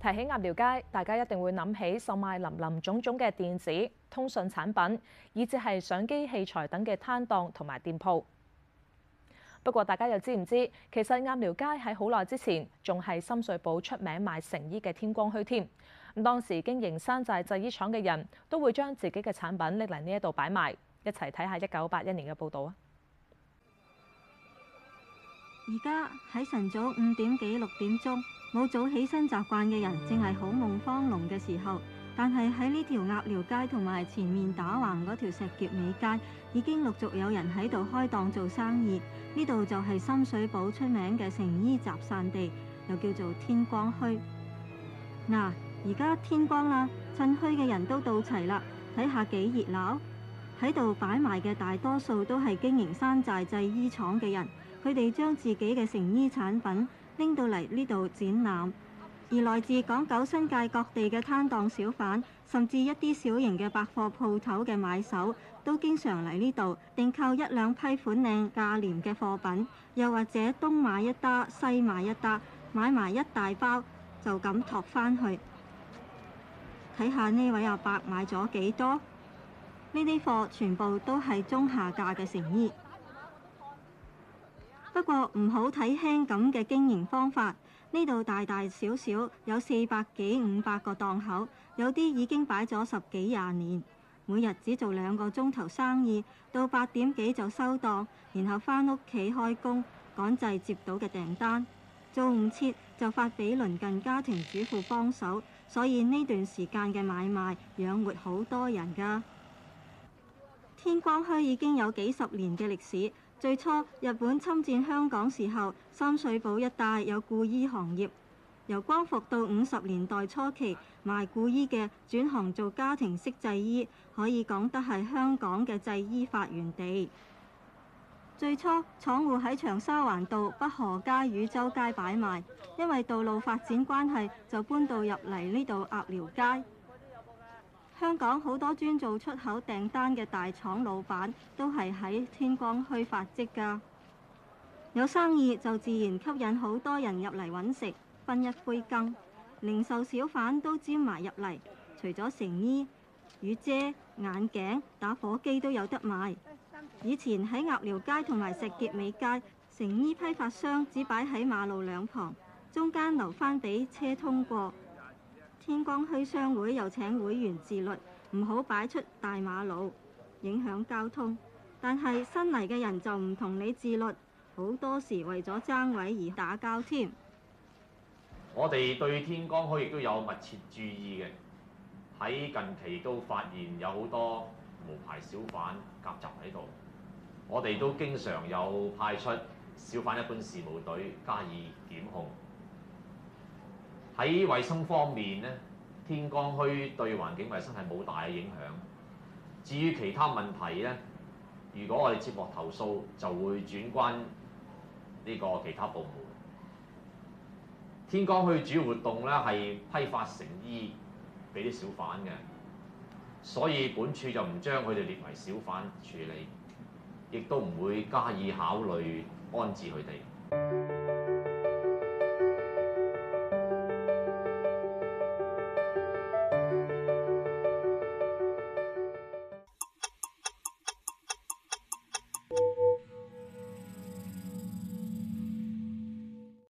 提起鴨寮街，大家一定會諗起售賣林林總總嘅電子、通訊產品，以至係相機器材等嘅攤檔同埋店鋪。不過，大家又知唔知，其實鴨寮街喺好耐之前仲係深水埗出名賣成衣嘅天光墟添。咁當時經營山寨製衣廠嘅人都會將自己嘅產品拎嚟呢一度擺賣。一齊睇下1981年嘅報導啊！ 而家喺晨早5點幾6點鐘，冇早起身習慣嘅人，正係好夢荒濃嘅時候。但係喺呢條鴨寮街同埋前面打橫嗰條石硤尾街，已經陸續有人喺度開檔做生意。呢度就係深水埗出名嘅成衣集散地，又叫做天光墟。嗱，而家天光啦，趁墟嘅人都到齊啦，睇下幾熱鬧。喺度擺賣嘅大多數都係經營山寨製衣廠嘅人，佢哋將自己嘅成衣產品拎到嚟呢度展覽。而來自港九新界各地嘅攤檔小販，甚至一啲小型嘅百貨鋪頭嘅買手，都經常嚟呢度訂購1、2批款靚價廉嘅貨品，又或者東買一打西買一打，買埋一大包就咁托返去。睇下呢位阿伯買咗幾多？呢啲貨全部都係中下價嘅成衣。不過唔好睇輕咁嘅經營方法。呢度大大小小有400幾500個檔口，有啲已經擺咗10幾20年，每日只做2個鐘頭生意，到8點幾就收檔，然後返屋企開工，趕製接到嘅訂單，做唔切就發俾鄰近家庭主婦幫手，所以呢段時間嘅買賣養活好多人㗎。天光墟已經有幾十年嘅歷史。最初日本侵佔香港時候，深水埗一帶有故衣行業。由光復到50年代初期，賣故衣嘅轉行做家庭式製衣，可以講得係香港嘅製衣發源地。最初廠戶喺長沙灣道北河街與洲街擺賣，因為道路發展關係，就搬到入嚟呢度鴨寮街。香港好多專做出口訂單嘅大廠老闆都係喺天光墟發跡㗎。有生意就自然吸引好多人入嚟揾食，分一杯羹。零售小販都沾埋入嚟，除咗成衣、雨遮、眼鏡、打火機都有得賣。以前喺鴨寮街同埋石硤尾街，成衣批發商只擺喺馬路兩旁，中間留返俾車通過。天光墟商會又請會員自律，唔好擺出大馬路，影響交通。但係新嚟嘅人就唔同你自律，好多時為咗爭位而打交添。 我哋對天光墟亦都有密切注意嘅，喺近期都發現有好多無牌小販夾雜喺度，我哋都經常有派出小販一般事務隊加以檢控。喺衞生方面呢，天光墟對環境衞生係冇大嘅影響。至於其他問題呢，如果我哋接獲投訴，就會轉關呢個其他部門。天光墟主要活動呢係批發成衣俾啲小販嘅，所以本處就唔將佢哋列為小販處理，亦都唔會加以考慮安置佢哋。